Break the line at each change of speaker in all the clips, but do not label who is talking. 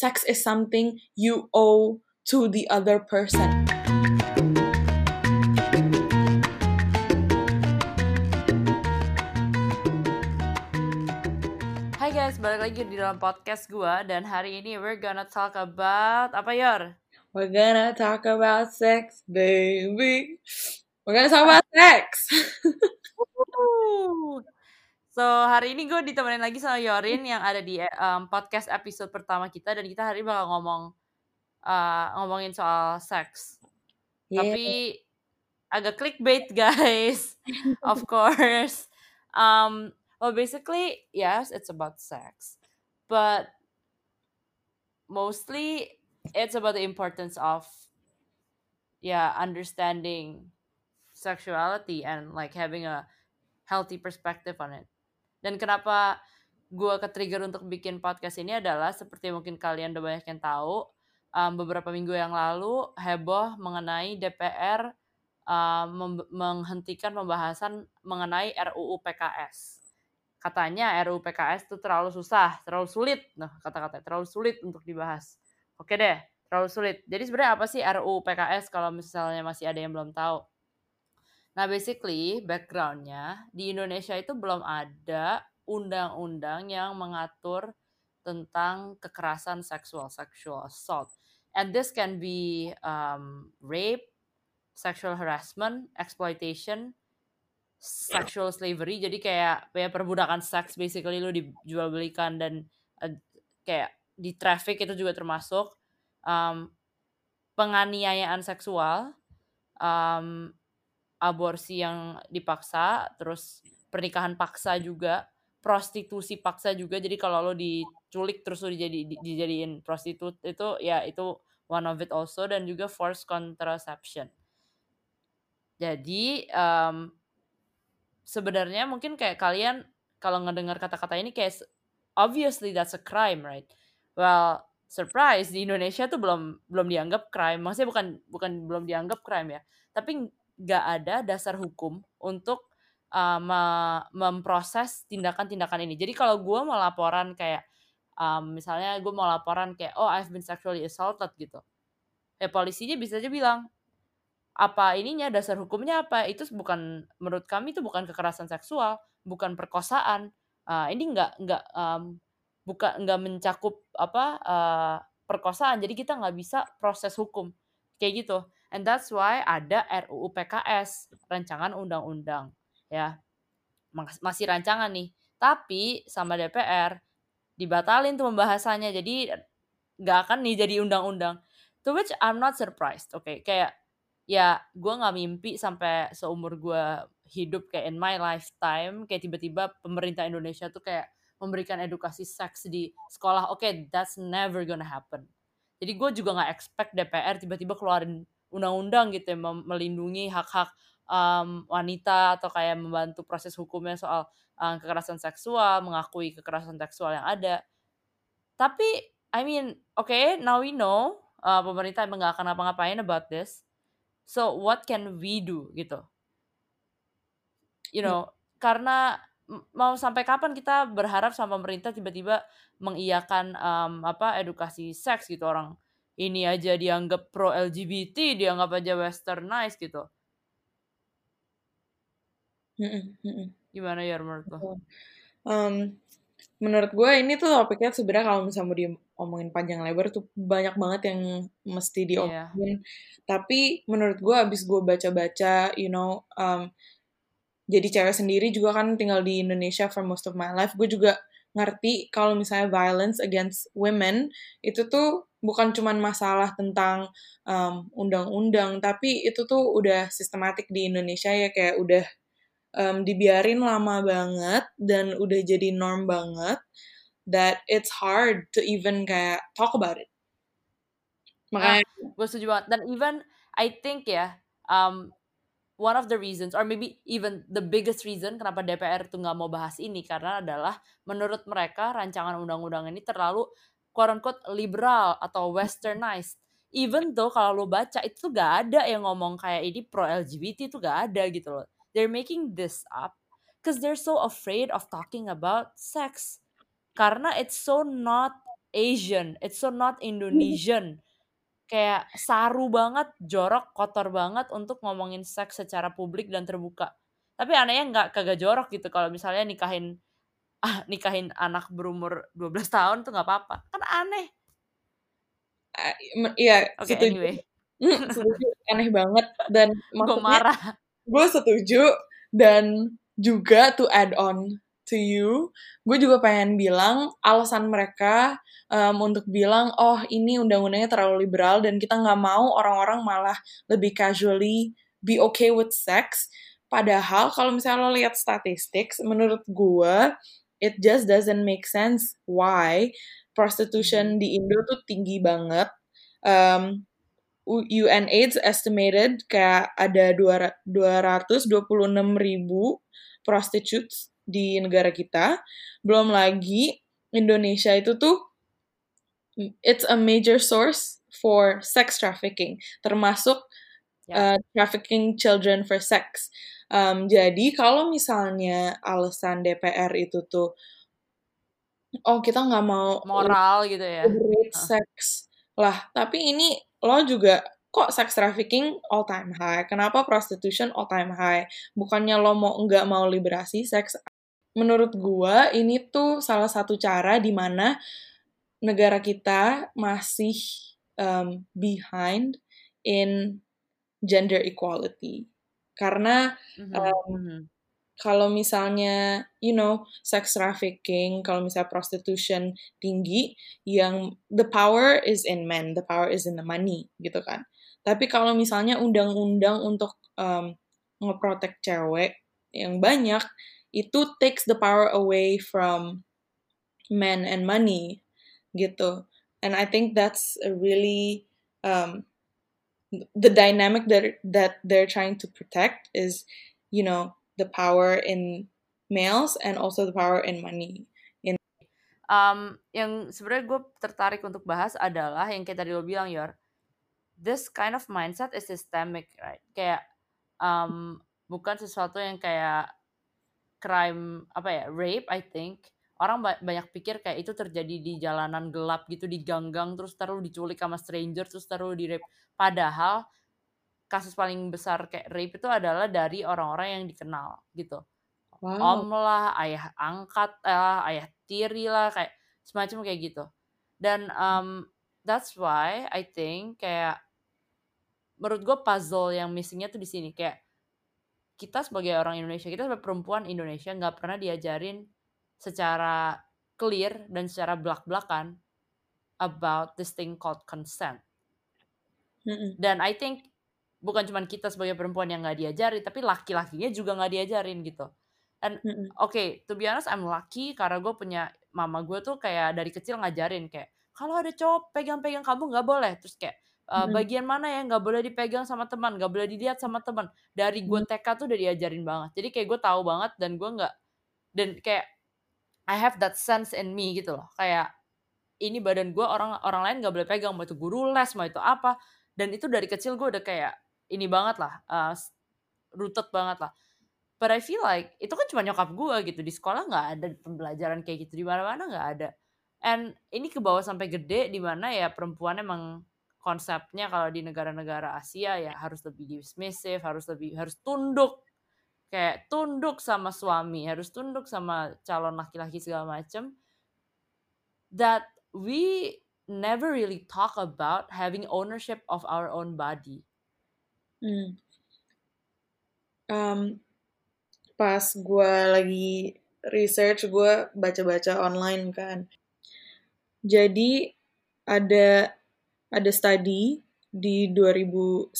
sex is something you owe to the other person.
Hai guys, balik lagi di dalam podcast gue. Dan hari ini we're gonna talk about apa, Yor?
We're gonna talk about sex, baby. We're gonna talk about sex.
So hari ini gue ditemenin lagi sama Yorin yang ada di podcast episode pertama kita. Dan kita hari ini bakal ngomongin soal seks.
Yeah.
Tapi agak clickbait guys. Of course. Well basically yes, it's about sex. But mostly it's about the importance of understanding sexuality and like having a healthy perspective on it. Dan kenapa gue ke-trigger untuk bikin podcast ini adalah seperti mungkin kalian udah banyak yang tahu, beberapa minggu yang lalu heboh mengenai DPR menghentikan pembahasan mengenai RUU PKS. Katanya RUU PKS itu terlalu susah, terlalu sulit. Nah, kata-katanya terlalu sulit untuk dibahas. Oke deh, terlalu sulit. Jadi sebenarnya apa sih RUU PKS kalau misalnya masih ada yang belum tahu? Nah, basically background-nya di Indonesia itu belum ada undang-undang yang mengatur tentang kekerasan seksual, sexual assault. And this can be rape, sexual harassment, exploitation, sexual slavery. Jadi kayak perbudakan seks, basically lu dijual belikan dan kayak di traffic itu juga termasuk. Penganiayaan seksual, aborsi yang dipaksa, terus pernikahan paksa juga, prostitusi paksa juga. Jadi kalau lo diculik terus lo dijadiin prostitut itu ya itu one of it also. Dan juga forced contraception. Jadi sebenarnya mungkin kayak kalian kalau ngedengar kata-kata ini kayak obviously that's a crime, right? Well, surprise, di Indonesia tuh belum dianggap crime. Maksudnya bukan belum dianggap crime ya, tapi nggak ada dasar hukum untuk memproses tindakan-tindakan ini. Jadi kalau gue mau laporan kayak misalnya gue mau laporan kayak I've been sexually assaulted gitu, ya polisinya bisa aja bilang apa ininya, dasar hukumnya apa, itu bukan, menurut kami itu bukan kekerasan seksual, bukan perkosaan, ini nggak mencakup perkosaan, jadi kita nggak bisa proses hukum kayak gitu. And that's why ada RUU PKS, rancangan undang-undang ya, masih rancangan nih, tapi sama DPR dibatalin tuh pembahasannya, jadi nggak akan nih jadi undang-undang. To which I'm not surprised, okay? Kayak ya gue nggak mimpi sampai seumur gue hidup kayak in my lifetime kayak tiba-tiba pemerintah Indonesia tuh kayak memberikan edukasi seks di sekolah. Okay, that's never gonna happen. Jadi gue juga nggak expect DPR tiba-tiba keluarin undang-undang gitu ya, melindungi hak-hak wanita atau kayak membantu proses hukumnya soal kekerasan seksual, mengakui kekerasan seksual yang ada. Tapi I mean, okay, now we know pemerintah emang nggak akan ngapa-ngapain about this. So what can we do gitu? You know, karena mau sampai kapan kita berharap sama pemerintah tiba-tiba mengiyakan edukasi seks gitu, orang ini aja dianggap pro LGBT, dianggap aja westernized gitu. Gimana ya menurut lo?
Menurut gue ini tuh topiknya sebenarnya kalau misalnya mau diomongin panjang lebar tuh banyak banget yang mesti diomongin. Tapi menurut gue abis gue baca-baca, jadi cewek sendiri juga kan tinggal di Indonesia for most of my life, gue juga ngerti kalau misalnya violence against women itu tuh bukan cuman masalah tentang undang-undang, tapi itu tuh udah sistematik di Indonesia ya, kayak udah dibiarin lama banget dan udah jadi norm banget that it's hard to even kayak talk about it. Makanya
gue setuju banget. Dan even I think ya one of the reasons or maybe even the biggest reason kenapa DPR tuh nggak mau bahas ini karena adalah menurut mereka rancangan undang-undang ini terlalu quote unquote liberal atau westernized. Even though kalau lo baca itu tuh gak ada yang ngomong kayak ini pro LGBT, itu gak ada gitu loh. They're making this up because they're so afraid of talking about sex karena it's so not Asian, it's so not Indonesian. Kayak saru banget, jorok, kotor banget untuk ngomongin seks secara publik dan terbuka. Tapi anehnya kagak jorok gitu kalau misalnya nikahin anak berumur 12 tahun tuh nggak apa-apa. Kan aneh.
Iya,
Oke,
setuju.
anyway.
Setuju, aneh banget. Dan
Gue
maksudnya
marah.
gue setuju, dan juga to add on to you, gue juga pengen bilang alasan mereka untuk bilang, oh ini undang-undangnya terlalu liberal dan kita nggak mau orang-orang malah lebih casually be okay with sex. Padahal kalau misalnya lo lihat statistik, menurut gue it just doesn't make sense why prostitution di Indo tuh tinggi banget. UNAIDS estimated kayak ada 226.000 prostitutes di negara kita. Belum lagi Indonesia itu tuh it's a major source for sex trafficking, termasuk trafficking children for sex. Jadi kalau misalnya alasan DPR itu tuh, oh kita nggak mau
moral gitu ya.
liberate sex lah, tapi ini lo juga kok sex trafficking all time high, kenapa prostitution all time high, bukannya lo nggak mau liberasi seks. Menurut gua ini tuh salah satu cara di mana negara kita masih behind in gender equality, karena kalau misalnya, sex trafficking, kalau misalnya prostitution tinggi, yang the power is in men, the power is in the money, gitu kan. Tapi kalau misalnya undang-undang untuk ngeprotek cewek yang banyak, itu takes the power away from men and money, gitu. And I think that's a really, the dynamic that they're trying to protect is, the power in males and also the power in money.
Yang sebenarnya gue tertarik untuk bahas adalah yang kayak tadi lo bilang, Yor. This kind of mindset is systemic, right? Kayak bukan sesuatu yang kayak crime, rape, I think. Orang banyak pikir kayak itu terjadi di jalanan gelap gitu, di gang-gang, terus taruh diculik sama stranger, terus taruh di rape. Padahal kasus paling besar kayak rape itu adalah dari orang-orang yang dikenal gitu. Om lah, ayah angkat lah, ayah tiri lah, kayak semacam kayak gitu. Dan that's why I think kayak menurut gue puzzle yang missingnya tuh di sini, kayak kita sebagai orang Indonesia, kita sebagai perempuan Indonesia nggak pernah diajarin secara clear dan secara belak-belakan about this thing called consent. Dan I think bukan cuma kita sebagai perempuan yang nggak diajarin, tapi laki-lakinya juga nggak diajarin gitu. And okay, to be honest, I'm lucky karena gue punya mama gue tuh kayak dari kecil ngajarin kayak kalau ada cowok pegang-pegang kamu nggak boleh, terus kayak bagian mana ya nggak boleh dipegang sama teman, nggak boleh dilihat sama teman. Dari gue TK tuh udah diajarin banget. Jadi kayak gue tahu banget dan gue nggak, dan kayak I have that sense in me gitu loh. Kayak ini badan gue, orang lain nggak boleh pegang, mau itu guru les, mau itu apa. Dan itu dari kecil gue udah kayak ini banget lah, rooted banget lah. But I feel like itu kan cuma nyokap gue gitu, di sekolah nggak ada pembelajaran kayak gitu, di mana-mana nggak ada. And ini ke bawah sampai gede, di mana ya perempuan emang konsepnya kalau di negara-negara Asia ya harus lebih submissive, harus tunduk, kayak tunduk sama suami, harus tunduk sama calon laki-laki segala macem. That we never really talk about having ownership of our own body.
Pas gue lagi research, gue baca-baca online kan. Jadi ada study di 2011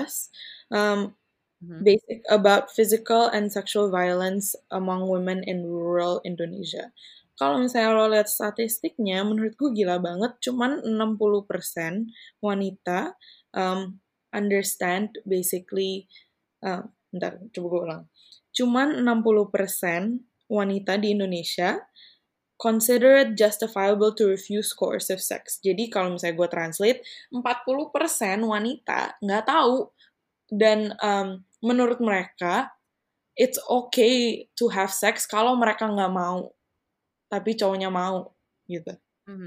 basic about physical and sexual violence among women in rural Indonesia. Kalau misalnya lo lihat statistiknya, menurut gue gila banget. Cuman 60% wanita understand basically, bentar, coba gue ulang. Cuman 60% wanita di Indonesia consider it justifiable to refuse coercive sex. Jadi kalau misalnya gue translate, 40% wanita nggak tahu. Dan menurut mereka, it's okay to have sex kalau mereka nggak mau, tapi cowoknya mau, gitu.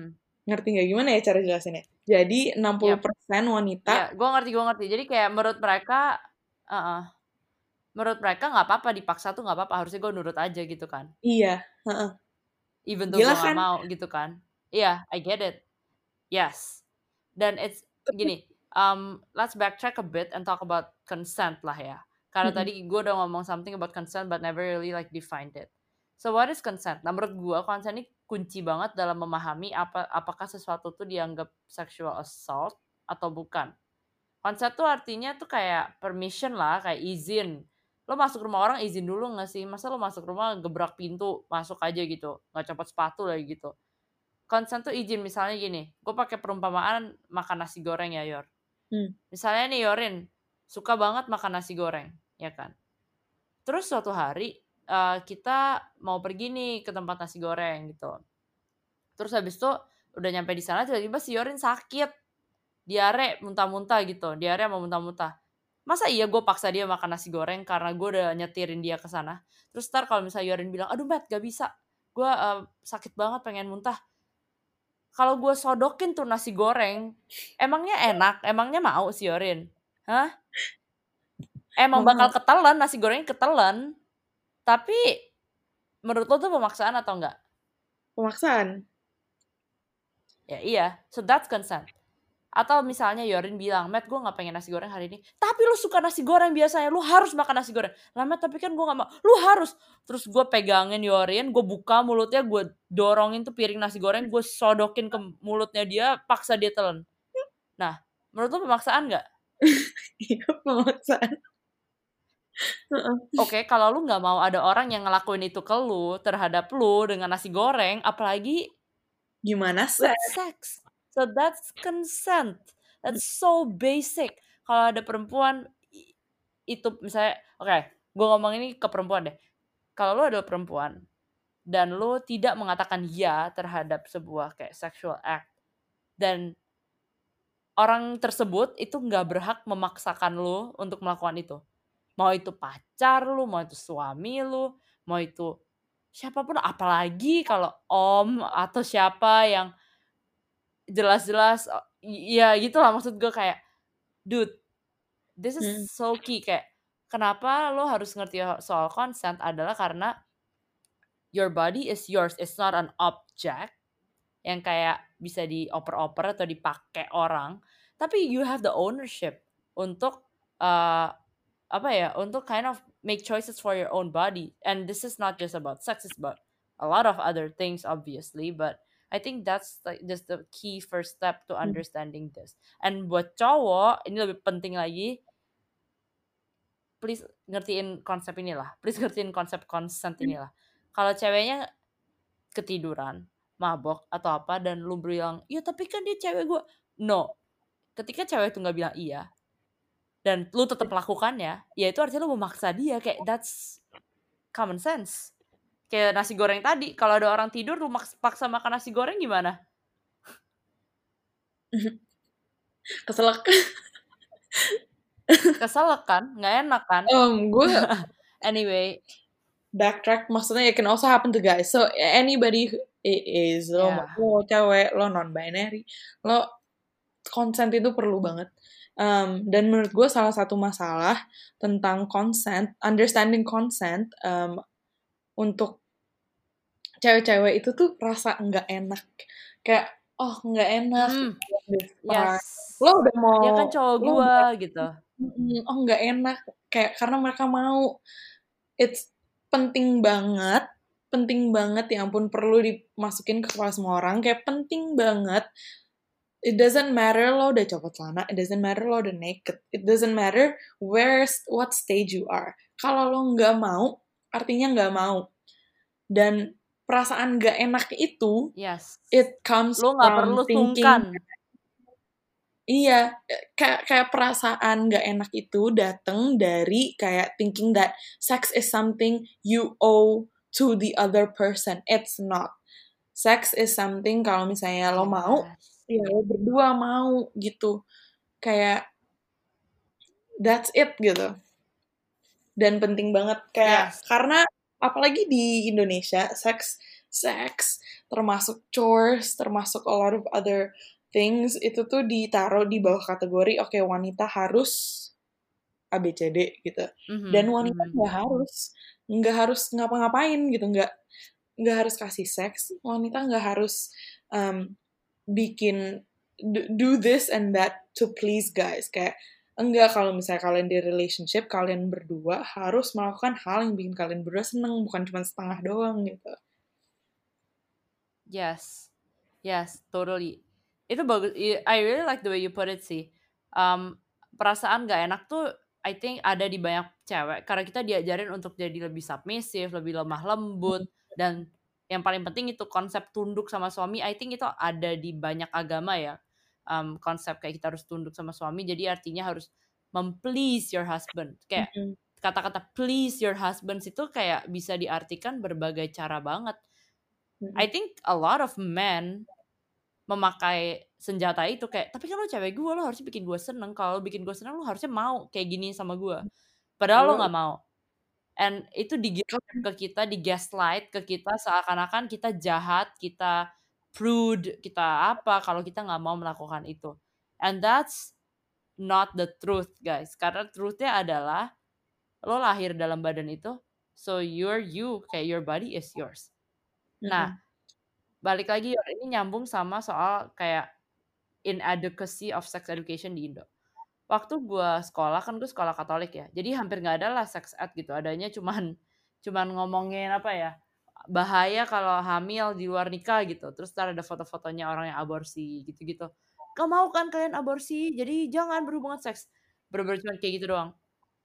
Ngerti nggak gimana ya cara jelasinnya? Jadi 60%
Yap.
wanita.
Ya, gue ngerti. Jadi kayak menurut mereka, menurut mereka nggak apa-apa dipaksa tuh nggak apa-apa. Harusnya gue nurut aja gitu kan.
Iya, heeh.
Even though gue
Gila
nggak
kan?
mau gitu kan. Iya, I get it. Yes. Dan it's gini, let's backtrack a bit and talk about consent lah ya. Karena
Mm-mm.
tadi gue udah ngomong something about consent but never really like defined it. So what is consent? Nah menurut gue consent ini kunci banget dalam memahami apakah sesuatu tuh dianggap sexual assault atau bukan. Consent tuh artinya tuh kayak permission lah, kayak izin. Lo masuk rumah orang izin dulu gak sih? Masa lo masuk rumah gebrak pintu, masuk aja gitu, gak copot sepatu lagi gitu. Consent tuh izin, misalnya gini, gue pakai perumpamaan makan nasi goreng ya Yor. Misalnya nih Yorin, suka banget makan nasi goreng, ya kan? Terus suatu hari kita mau pergi nih ke tempat nasi goreng gitu. Terus habis itu udah nyampe di sana tiba-tiba si Yorin sakit, diare muntah-muntah gitu, diare sama muntah-muntah. Masa iya gue paksa dia makan nasi goreng karena gue udah nyetirin dia ke sana. Terus ntar kalau misalnya Yorin bilang, aduh Matt gak bisa, gue sakit banget pengen muntah. Kalau gue sodokin tuh nasi goreng, emangnya enak? Emangnya mau si Yorin? Hah? Emang bakal
Mau.
ketelan, nasi gorengnya ketelan. Tapi menurut lo tuh pemaksaan atau enggak?
Pemaksaan.
Ya iya, so that's consent. Atau misalnya Yorin bilang, Matt gue gak pengen nasi goreng hari ini. Tapi lu suka nasi goreng biasanya, lu harus makan nasi goreng. Lah Matt, tapi kan gue gak mau. Lu harus. Terus gue pegangin Yorin, gue buka mulutnya, gue dorongin tuh piring nasi goreng, gue sodokin ke mulutnya dia, paksa dia telan. Nah, menurut lu pemaksaan gak?
Iya, pemaksaan.
Oke, kalau lu gak mau ada orang yang ngelakuin itu ke lu, terhadap lu dengan nasi goreng, apalagi
Gimana
with
sih?
sex. So that's consent. That's so basic. Kalau ada perempuan itu misalnya, oke, gue ngomong ini ke perempuan deh. Kalau lu adalah perempuan dan lu tidak mengatakan ya terhadap sebuah kayak sexual act, dan orang tersebut itu nggak berhak memaksakan lu untuk melakukan itu. Mau itu pacar lu, mau itu suami lu, mau itu siapapun, apalagi kalau om atau siapa yang jelas-jelas, ya gitulah maksud gue kayak, dude, this is so key. Kayak kenapa lo harus ngerti soal consent adalah karena your body is yours, it's not an object yang kayak bisa dioper-oper atau dipakai orang, tapi you have the ownership untuk untuk kind of make choices for your own body. And this is not just about sex, it's about a lot of other things obviously, but I think that's like just the key first step to understanding this. And buat cowok ini lebih penting lagi, please ngertiin konsep inilah. Please ngertiin konsep consent inilah. Kalau ceweknya ketiduran, mabok atau apa dan lu bilang, "Iya, tapi kan dia cewek gue." No. Ketika cewek itu nggak bilang iya dan lu tetap melakukannya, ya itu artinya lu memaksa dia. Kayak that's common sense. Kayak nasi goreng tadi, kalau ada orang tidur lu paksa makan nasi goreng gimana?
Keselak.
Keselak kan? Nggak enak kan?
Gue
Anyway,
backtrack, maksudnya it can also happen to guys. So anybody who is lo
yeah.
mau cewek, lo non-binary, lo consent itu perlu banget. Dan menurut gue salah satu masalah tentang consent, understanding consent, untuk cewek-cewek itu tuh rasa nggak enak. Kayak, oh nggak enak.
Yes.
Lo udah mau,
Dia kan cowok
lo
gue
udah,
gitu.
oh nggak enak. Kayak karena mereka mau. It's penting banget, ya ampun, perlu dimasukin ke kepala semua orang. Kayak penting banget. It doesn't matter lo udah copot celana, it doesn't matter lo udah naked, it doesn't matter what stage you are. Kalau lo nggak mau, artinya nggak mau. Dan perasaan nggak enak itu,
yes,
it comes
lo nggak perlu
from thinking.
sungkan.
Iya, kayak perasaan nggak enak itu datang dari kayak thinking that sex is something you owe to the other person. It's not. Sex is something kalau misalnya lo mau, ya lo berdua mau gitu. Kayak that's it gitu. Dan penting banget kayak karena apalagi di Indonesia, sex sex, termasuk chores, termasuk a lot of other things, itu tuh ditaruh di bawah kategori oke, wanita harus ABCD gitu. Dan wanita nggak harus ngapa-ngapain gitu, nggak harus kasih seks, wanita nggak harus bikin do this and that to please guys. Kayak enggak, kalau misalnya kalian di relationship, kalian berdua harus melakukan hal yang bikin kalian berdua seneng, bukan cuma setengah doang gitu.
Yes, totally. Itu bagus. I really like the way you put it sih. Perasaan gak enak tuh, I think ada di banyak cewek karena kita diajarin untuk jadi lebih submissive, lebih lemah lembut, dan yang paling penting itu konsep tunduk sama suami. I think itu ada di banyak agama ya. Konsep kayak kita harus tunduk sama suami, jadi artinya harus memplease your husband. Kayak kata-kata please your husband itu kayak bisa diartikan berbagai cara banget. I think a lot of men memakai senjata itu kayak, tapi kan lo cewek gue, lo harusnya bikin gue seneng. Kalau lo bikin gue seneng, lo harusnya mau kayak gini sama gue. Padahal lo gak mau. And itu ke kita, di gaslight ke kita seakan-akan kita jahat, kita prude, kita apa kalau kita gak mau melakukan itu. And that's not the truth, guys. Karena truthnya adalah lo lahir dalam badan itu, so you're you, kayak your body is yours. Nah, balik lagi ini nyambung sama soal kayak inadequacy of sex education di Indo. Waktu gue sekolah, kan gue sekolah Katolik ya, jadi hampir nggak ada lah sex ed gitu, adanya cuman ngomongin apa ya, bahaya kalau hamil di luar nikah gitu, terus ntar ada foto-fotonya orang yang aborsi gitu-gitu. Gak mau kan kalian aborsi, jadi jangan berhubungan seks. Bener-bener cuma kayak gitu doang.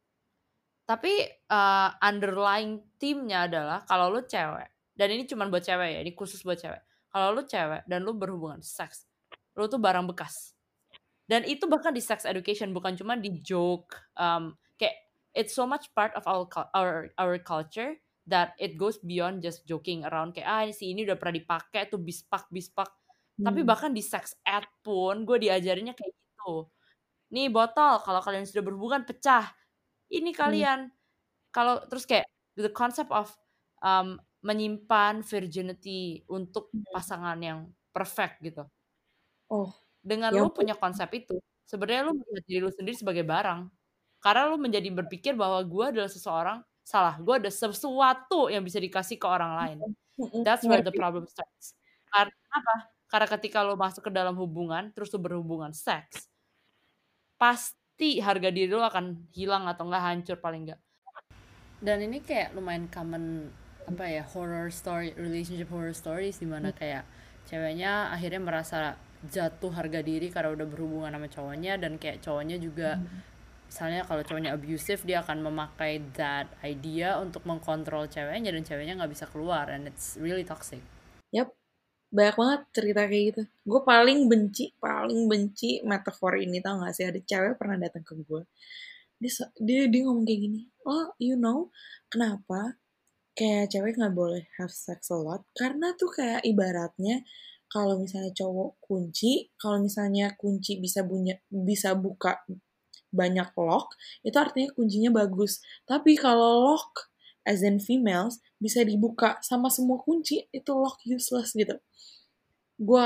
Tapi underlying theme-nya adalah kalau lu cewek, dan ini cuma buat cewek ya, ini khusus buat cewek. Kalau lu cewek dan lu berhubungan seks, lu tuh barang bekas. Dan itu bahkan di sex education, bukan cuma di joke. Kayak it's so much part of our culture that it goes beyond just joking around. Kayak si ini udah pernah dipakai tuh bispak. Tapi bahkan di sex ed pun gue diajarinnya kayak gitu. Nih botol, kalau kalian sudah berhubungan pecah. Ini kalian. Kalau terus kayak the concept of menyimpan virginity untuk pasangan yang perfect gitu. Dengan lu punya konsep itu, sebenarnya lu melihat diri lu sendiri sebagai barang. Karena lu menjadi berpikir bahwa gue adalah gue ada sesuatu yang bisa dikasih ke orang lain. That's where the problem starts. Karena apa? Karena ketika lu masuk ke dalam hubungan, terus lu berhubungan seks, pasti harga diri lu akan hilang atau enggak hancur paling enggak. Dan ini kayak lumayan common apa ya, relationship horror stories di mana kayak ceweknya akhirnya merasa jatuh harga diri karena udah berhubungan sama cowoknya, dan kayak cowoknya juga misalnya kalau cowoknya abusive, dia akan memakai that idea untuk mengkontrol ceweknya dan ceweknya nggak bisa keluar, and it's really toxic.
Yap, banyak banget cerita kayak gitu. Gue paling benci metafor ini, tau gak sih? Ada cewek pernah datang ke gue, dia ngomong kayak gini, oh you know kenapa kayak cewek nggak boleh have sex a lot? Karena tuh kayak ibaratnya kalau misalnya cowok kunci, kalau misalnya kunci bisa buka banyak lock, itu artinya kuncinya bagus. Tapi kalau lock as in females bisa dibuka sama semua kunci, itu lock useless gitu. Gue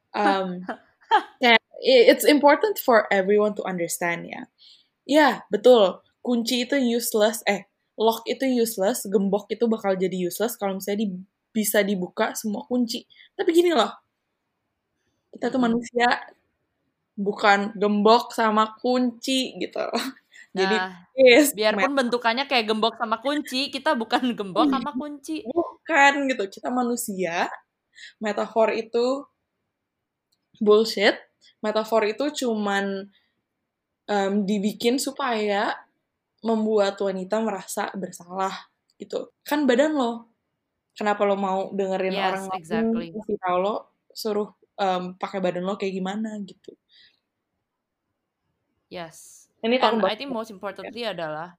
kayak it's important for everyone to understand ya. Ya, betul. Kunci itu useless, lock itu useless, gembok itu bakal jadi useless kalau misalnya bisa dibuka semua kunci. Tapi gini loh, kita tuh manusia, bukan gembok sama kunci gitu. Jadi,
biarpun bentukannya kayak gembok sama kunci, kita bukan gembok sama kunci.
Bukan gitu, kita manusia. Metafor itu bullshit. Metafor itu cuman dibikin supaya membuat wanita merasa bersalah gitu. Kan badan lo. Kenapa lo mau dengerin orang lain kasih tau lo, suruh pakai badan lo kayak gimana gitu.
Yes. Ini and I think most importantly adalah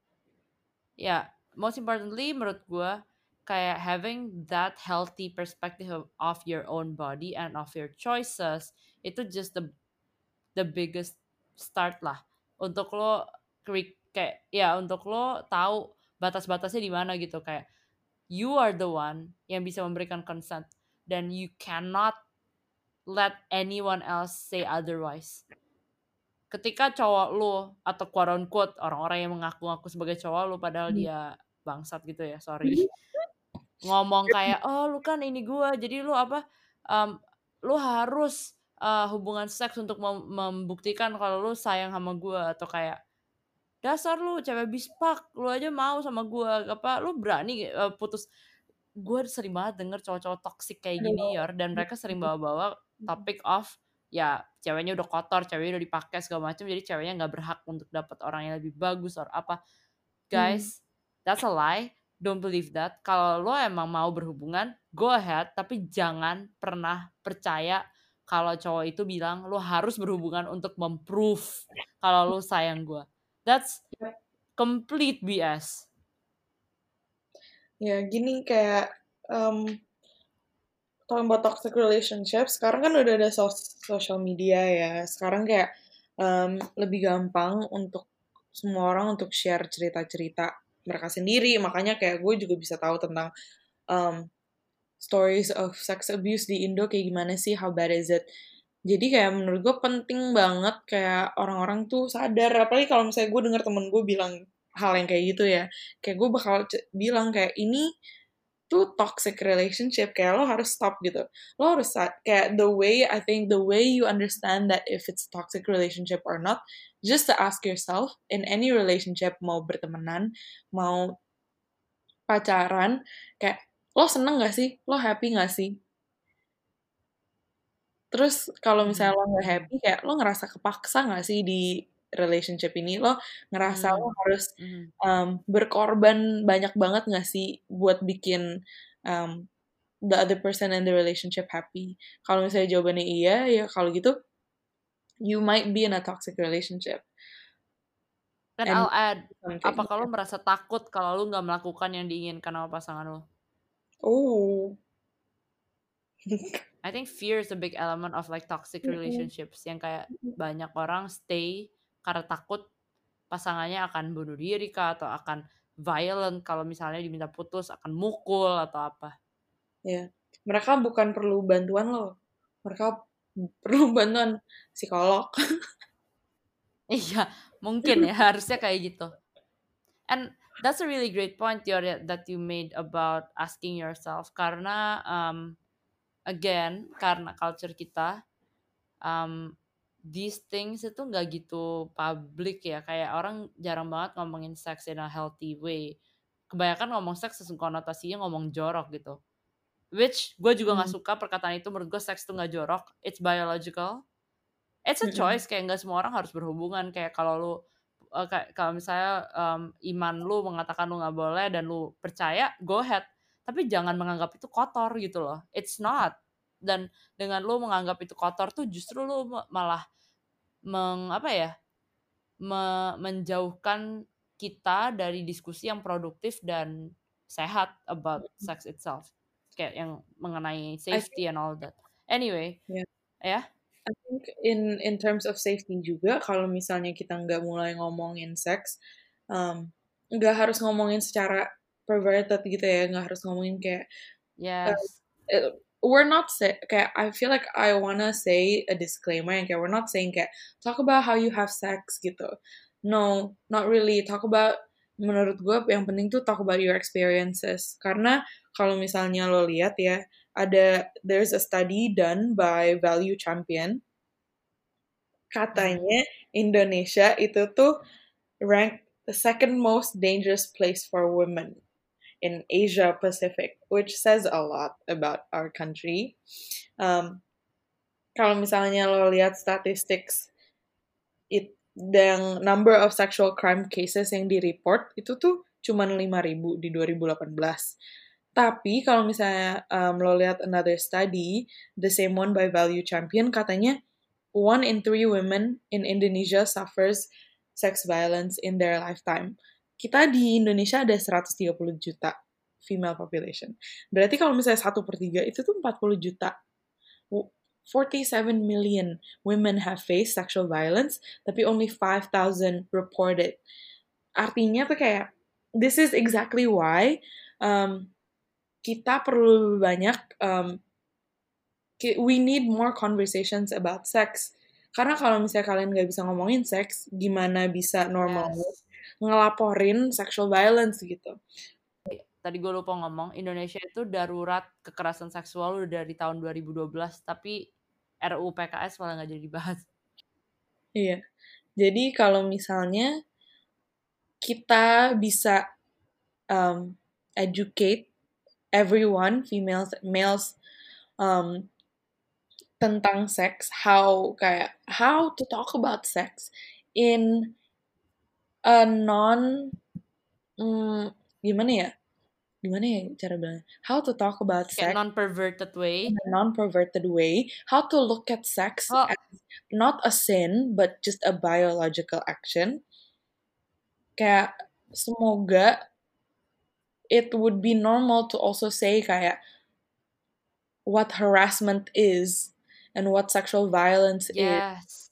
menurut gue kayak having that healthy perspective of your own body and of your choices, itu just the biggest start lah untuk lo untuk lo tahu batas-batasnya di mana gitu. Kayak you are the one yang bisa memberikan consent. dan you cannot let anyone else say otherwise. Ketika cowok lu atau quote unquote orang-orang yang mengaku-ngaku sebagai cowok lu padahal dia bangsat gitu ya, sorry. Ngomong kayak, "Oh, lu kan ini gua, jadi lu apa, lu harus, hubungan seks untuk membuktikan kalau lu sayang sama gua," atau kayak, "Dasar lu cewek bispak, lu aja mau sama gua, apa lu berani, putus." Gue sering banget denger cowok-cowok toxic kayak gini
Aduh.
Yor, dan mereka sering bawa-bawa topik of, ya ceweknya udah kotor, ceweknya udah dipakai segala macam, jadi ceweknya nggak berhak untuk dapat orang yang lebih bagus or apa. Guys, that's a lie, don't believe that. Kalau lo emang mau berhubungan, go ahead, tapi jangan pernah percaya kalau cowok itu bilang lo harus berhubungan untuk memprove kalau lo sayang gue. That's complete BS.
Ya gini kayak talking about toxic relationship, sekarang kan udah ada social media ya. Sekarang kayak lebih gampang untuk semua orang untuk share cerita-cerita mereka sendiri. Makanya kayak gue juga bisa tahu tentang um, stories of sex abuse di Indo kayak gimana sih, how bad is it. Jadi kayak menurut gue penting banget kayak orang-orang tuh sadar, apalagi kalau misalnya gue denger temen gue bilang hal yang kayak gitu ya, kayak gue bakal bilang kayak ini tuh toxic relationship, kayak lo harus stop gitu. Lo harus kayak I think the way you understand that if it's toxic relationship or not, just to ask yourself in any relationship, mau bertemanan, mau pacaran, kayak lo seneng gak sih? Lo happy gak sih? Terus kalau misalnya lo gak happy, kayak lo ngerasa kepaksa gak sih di relationship ini? Lo ngerasa lo harus berkorban banyak banget gak sih buat bikin the other person in the relationship happy? Kalau misalnya jawabannya iya, ya kalau gitu, you might be in a toxic relationship.
Dan
And
I'll add,
kayak
apakah lo merasa takut kalau lo nggak melakukan yang diinginkan sama pasangan lo?
oh.
I think fear is a big element of like toxic relationships, yang kayak banyak orang stay karena takut pasangannya akan bunuh diri kah, atau akan violent kalau misalnya diminta putus, akan mukul atau apa.
Ya, mereka bukan perlu bantuan lo, mereka perlu bantuan psikolog.
Iya, mungkin ya harusnya kayak gitu. And that's a really great point that you made about asking yourself, karena again, karena culture kita, these things itu nggak gitu public ya, kayak orang jarang banget ngomongin sex in a healthy way. Kebanyakan ngomong seks konotasinya ngomong jorok gitu. Which gue juga nggak suka perkataan itu, menurut gue seks itu nggak jorok, it's biological. It's a choice, kayak nggak semua orang harus berhubungan. Kayak kalau lu kalau misalnya iman lu mengatakan lu nggak boleh dan lu percaya, go ahead. Tapi jangan menganggap itu kotor gitu loh. It's not. Dan dengan lu menganggap itu kotor tuh justru lu malah menjauhkan kita dari diskusi yang produktif dan sehat about sex itself. Kayak yang mengenai
I
safety and all that. Anyway,
yeah.
ya.
I think in terms of safety juga, kalau misalnya kita nggak mulai ngomongin seks, nggak harus ngomongin secara perverted gitu ya, nggak harus ngomongin kayak
Yes.
we're not kayak I feel like I wanna say a disclaimer yang kayak we're not saying kayak talk about how you have sex gitu. No, not really. Talk about, menurut gue yang penting tuh talk about your experiences. Karena kalau misalnya lo lihat ya, there's a study done by Value Champion. Katanya Indonesia itu tuh ranked the second most dangerous place for women in Asia Pacific, which says a lot about our country. Kalau misalnya lo lihat statistics, yang number of sexual crime cases yang di-report itu tuh cuma 5.000 di 2018. Tapi kalau misalnya lo lihat another study, the same one by Value Champion, katanya 1 in 3 women in Indonesia suffers sex violence in their lifetime. Kita di Indonesia ada 130 juta female population. Berarti kalau misalnya 1/3 itu tuh 40 juta. 47 million women have faced sexual violence, tapi only 5,000 reported. Artinya tuh kayak, this is exactly why kita perlu lebih banyak we need more conversations about sex. Karena kalau misalnya kalian nggak bisa ngomongin seks, gimana bisa normal
Yes.
ngelaporin sexual violence gitu.
Tadi gue lupa ngomong, Indonesia itu darurat kekerasan seksual udah dari tahun 2012, tapi RUU PKS malah nggak jadi dibahas.
Iya. Jadi kalau misalnya kita bisa educate everyone, females, males, um, tentang seks, how to talk about sex in a non gimana ya? Gimana ya cara bilangnya? How to talk about
Kayak
sex
non-perverted
in
way.
a non-perverted way. How to look at sex
Oh,
as not a sin, but just a biological action. Kayak semoga it would be normal to also say kayak what harassment is and what sexual violence is.
yes.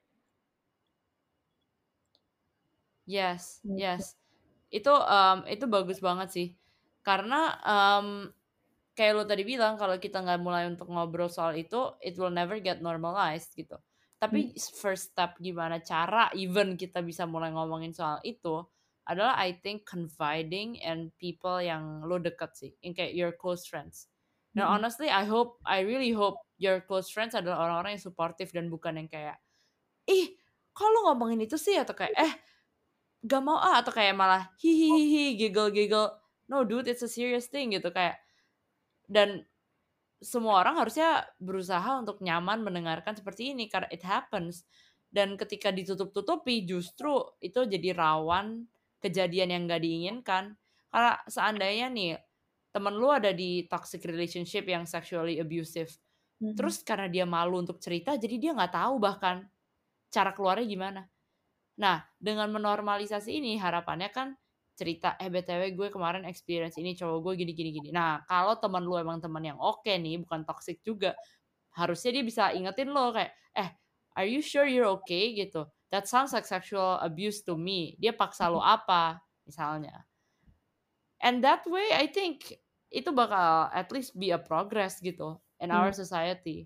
Yes, yes. Itu bagus banget sih. Karena kayak lo tadi bilang kalau kita nggak mulai untuk ngobrol soal itu, it will never get normalized gitu. Tapi first step gimana cara even kita bisa mulai ngomongin soal itu adalah I think confiding in people yang lo deket sih, yang kayak your close friends. Dan honestly, I really hope your close friends adalah orang-orang yang supportive dan bukan yang kayak, ih, kok lo ngomongin itu sih atau kayak, gak mau atau kayak malah hihihi giggle-giggle. No dude, it's a serious thing gitu kayak. Dan semua orang harusnya berusaha untuk nyaman mendengarkan seperti ini karena it happens. Dan ketika ditutup-tutupi justru itu jadi rawan kejadian yang gak diinginkan. Karena seandainya nih temen lu ada di toxic relationship yang sexually abusive, terus karena dia malu untuk cerita jadi dia nggak tahu bahkan cara keluarnya gimana. Nah, dengan menormalisasi ini harapannya kan cerita, BTW gue kemarin experience ini cowok gue gini gini gini. Nah, kalau teman lu emang teman yang oke nih, bukan toxic juga, harusnya dia bisa ingetin lo kayak, are you sure you're okay gitu. That sounds like sexual abuse to me. Dia paksa lo apa misalnya. And that way I think itu bakal at least be a progress gitu in our society.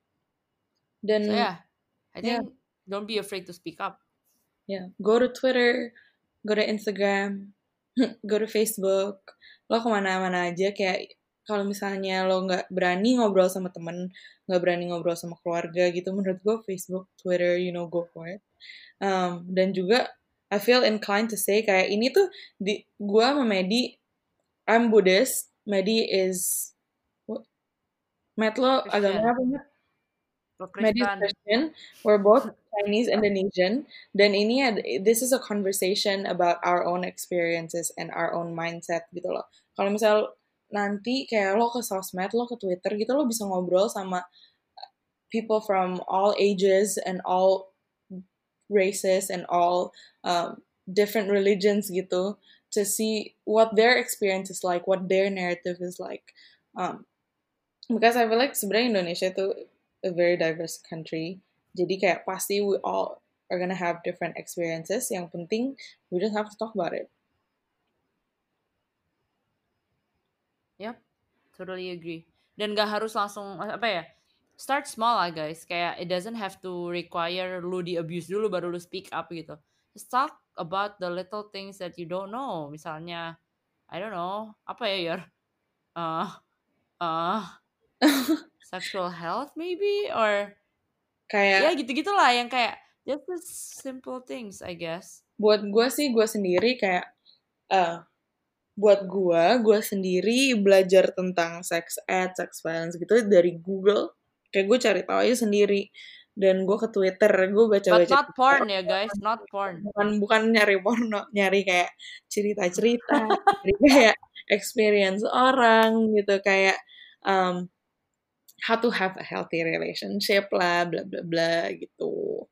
So
Dan
yeah, I
ya,
think don't be afraid to speak up.
go to Twitter, go to Instagram, go to Facebook, lo kemana-mana aja kayak kalau misalnya lo nggak berani ngobrol sama temen, nggak berani ngobrol sama keluarga gitu, menurut gue Facebook, Twitter, go for it. Dan juga I feel inclined to say kayak ini tuh gue sama Medi, I'm Buddhist, Medi is Matt lo agama
Christian,
apa Matt?
lo
Medi is
Kristen.
Christian, we're both Chinese Indonesian, dan this is a conversation about our own experiences and our own mindset gitu loh. Kalau misal nanti kayak lo ke sosmed, lo ke Twitter gitu, lo bisa ngobrol sama people from all ages and all races and all different religions gitu, to see what their experience is like, what their narrative is like. Because I feel like sebenarnya Indonesia itu a very diverse country. Jadi kayak pasti we all are gonna have different experiences. Yang penting we just have to talk about it.
Yep, totally agree. Dan gak harus langsung apa ya? Start small lah guys. Kayak it doesn't have to require lu di abuse dulu baru lu speak up gitu. Just talk about the little things that you don't know. Misalnya, I don't know, apa ya Yor? Uh, uh, sexual health maybe or ya
Kayak
gitu-gitulah yang kayak just the simple things I guess.
buat gue sih gue sendiri kayak buat gue sendiri belajar tentang sex ed, sex violence gitu dari Google. Kayak gue cari tahu aja sendiri. Dan gue ke Twitter, gue
But
baca-baca.
not porn ya guys, not porn.
Bukan nyari porno, nyari kayak cerita-cerita, nyari kayak experience orang gitu, kayak um, how to have a healthy relationship lah, bla bla bla gitu.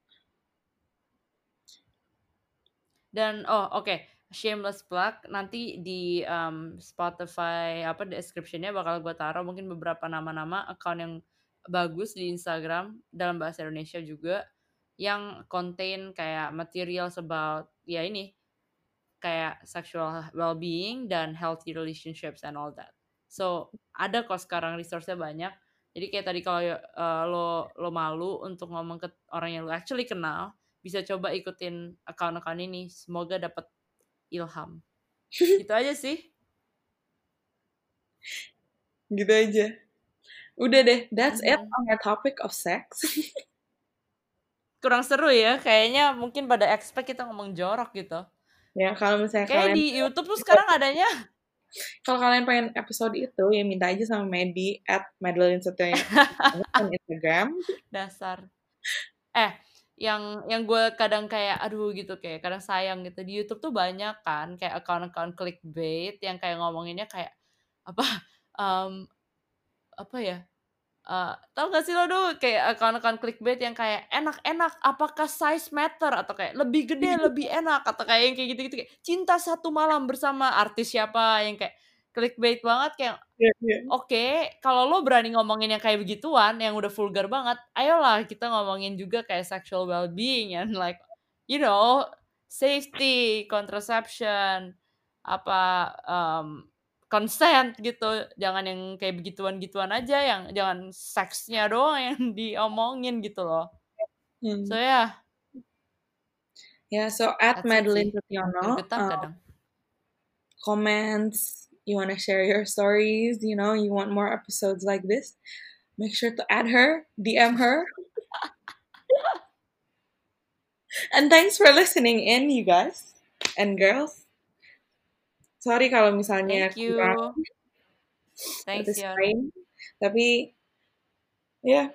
Dan shameless plug nanti di Spotify apa description-nya bakal gue taruh mungkin beberapa nama-nama account yang bagus di Instagram dalam bahasa Indonesia juga yang contain kayak materials about ya ini kayak sexual well-being dan healthy relationships and all that. So ada kok sekarang resource-nya banyak. Jadi kayak tadi kalau lo malu untuk ngomong ke orang yang lo actually kenal, bisa coba ikutin account-account ini. Semoga dapat ilham. Gitu aja sih.
Gitu aja. Udah deh, that's it on the topic of sex.
Kurang seru ya, kayaknya mungkin pada expect kita ngomong jorok gitu.
Ya, kalau misalnya
Kayak
kalian
di YouTube tuh sekarang adanya.
kalau kalian pengen episode itu, ya minta aja sama Medi @Madeline on Instagram.
Dasar. Yang gue kadang kayak aduh gitu, kayak kadang sayang gitu, di YouTube tuh banyak kan kayak account-account clickbait yang kayak ngomonginnya kayak apa, apa ya, tahu nggak sih lo tuh kayak account-account clickbait yang kayak, "Enak-enak, apakah size matter?" Atau kayak, "Lebih gede, lebih enak," atau kayak yang kayak gitu-gitu, kayak, "Cinta satu malam bersama artis siapa," yang kayak clickbait banget kayak
Iya.
oke, kalau lo berani ngomongin yang kayak begituan, yang udah vulgar banget, ayolah kita ngomongin juga kayak sexual well-being and like, you know, safety, contraception, apa, consent gitu. Jangan yang kayak begituan-gituan aja, yang jangan seksnya doang yang diomongin gitu loh. So yeah,
Yeah, so
that's it
@Madeline
sih.
Sutiono,
Gregetan kadang.
comments, you want to share your stories, you want more episodes like this, make sure to add her, DM her. And thanks for listening in, you guys and girls. Sorry kalau misalnya
Thank you.
kurang
Thanks, Yon.
satisfying, tapi ya.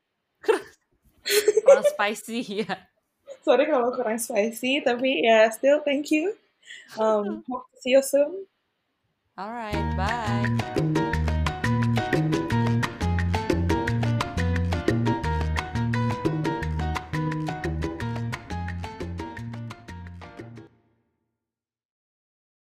Kurang spicy ya.
Sorry kalau kurang spicy, tapi ya still thank you. Hope to see you soon.
Alright, bye.